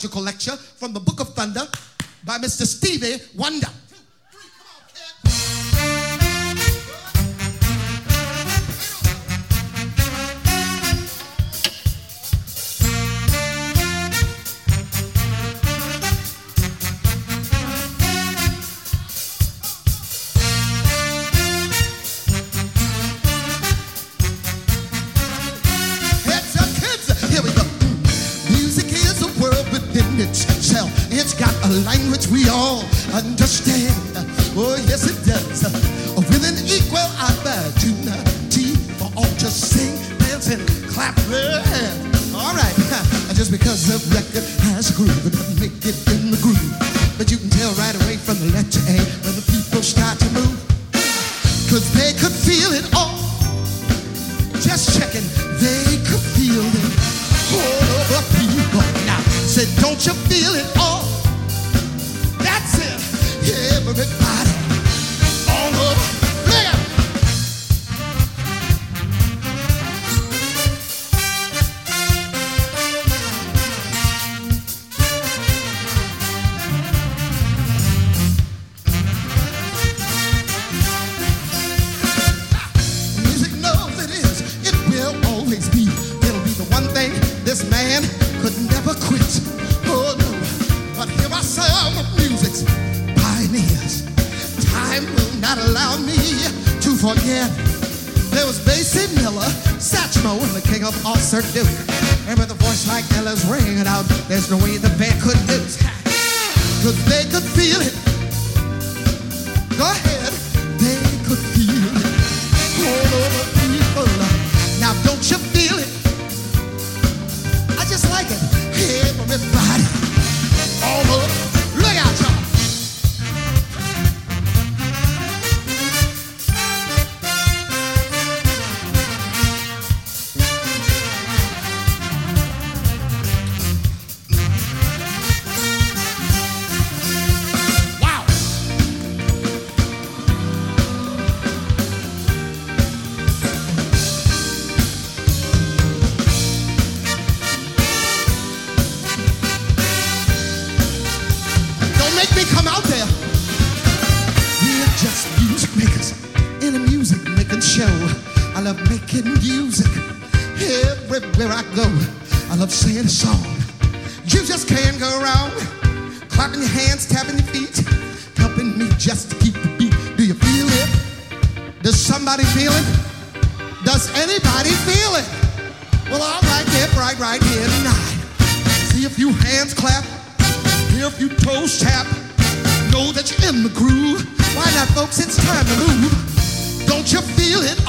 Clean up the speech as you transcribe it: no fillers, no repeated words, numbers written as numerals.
Lecture from the Book of Thunder by Mr. Stevie Wonder. It's got a language we all understand. Oh, yes, it does. With an equal opportunity for all to sing, dance, and clap their hands. All right, just because the record has a groove, it doesn't make it in the groove. But you can tell right away from the letter A when the people start to move. Cause they could feel it all. Just checking, they could feel it. All over people. Now, say, don't you feel it all? That's it. Everybody all over. Look out. Music knows it is. It will always be. It'll be the one thing this man could never quit. Oh no, but here are some of music's pioneers. Time will not allow me to forget. There was Basie Miller, Satchmo, and the king of all Sir Duke. And with a voice like Ella's ringing out, there's no way the band could lose. Cause they could feel it. Go ahead, they could feel it. All over people. Now don't you feel it? I just like it. Everybody all over. Look out, y'all. Wow. Make me come out there. We're just music makers in a music making show. I love making music everywhere I go. I love singing a song. You just can't go wrong. Clapping your hands, tapping your feet, helping me just to keep the beat. Do you feel it? Does somebody feel it? Does anybody feel it? Well, all right, get right here tonight. See a few hands clap. Hear a few toes tap. Know that you're in the groove. Why not, folks? It's time to move. Don't you feel it?